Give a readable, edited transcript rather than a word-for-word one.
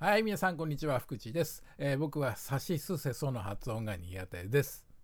はい、皆さんこんにちは、福地です。僕はさしすせその発音が苦手です。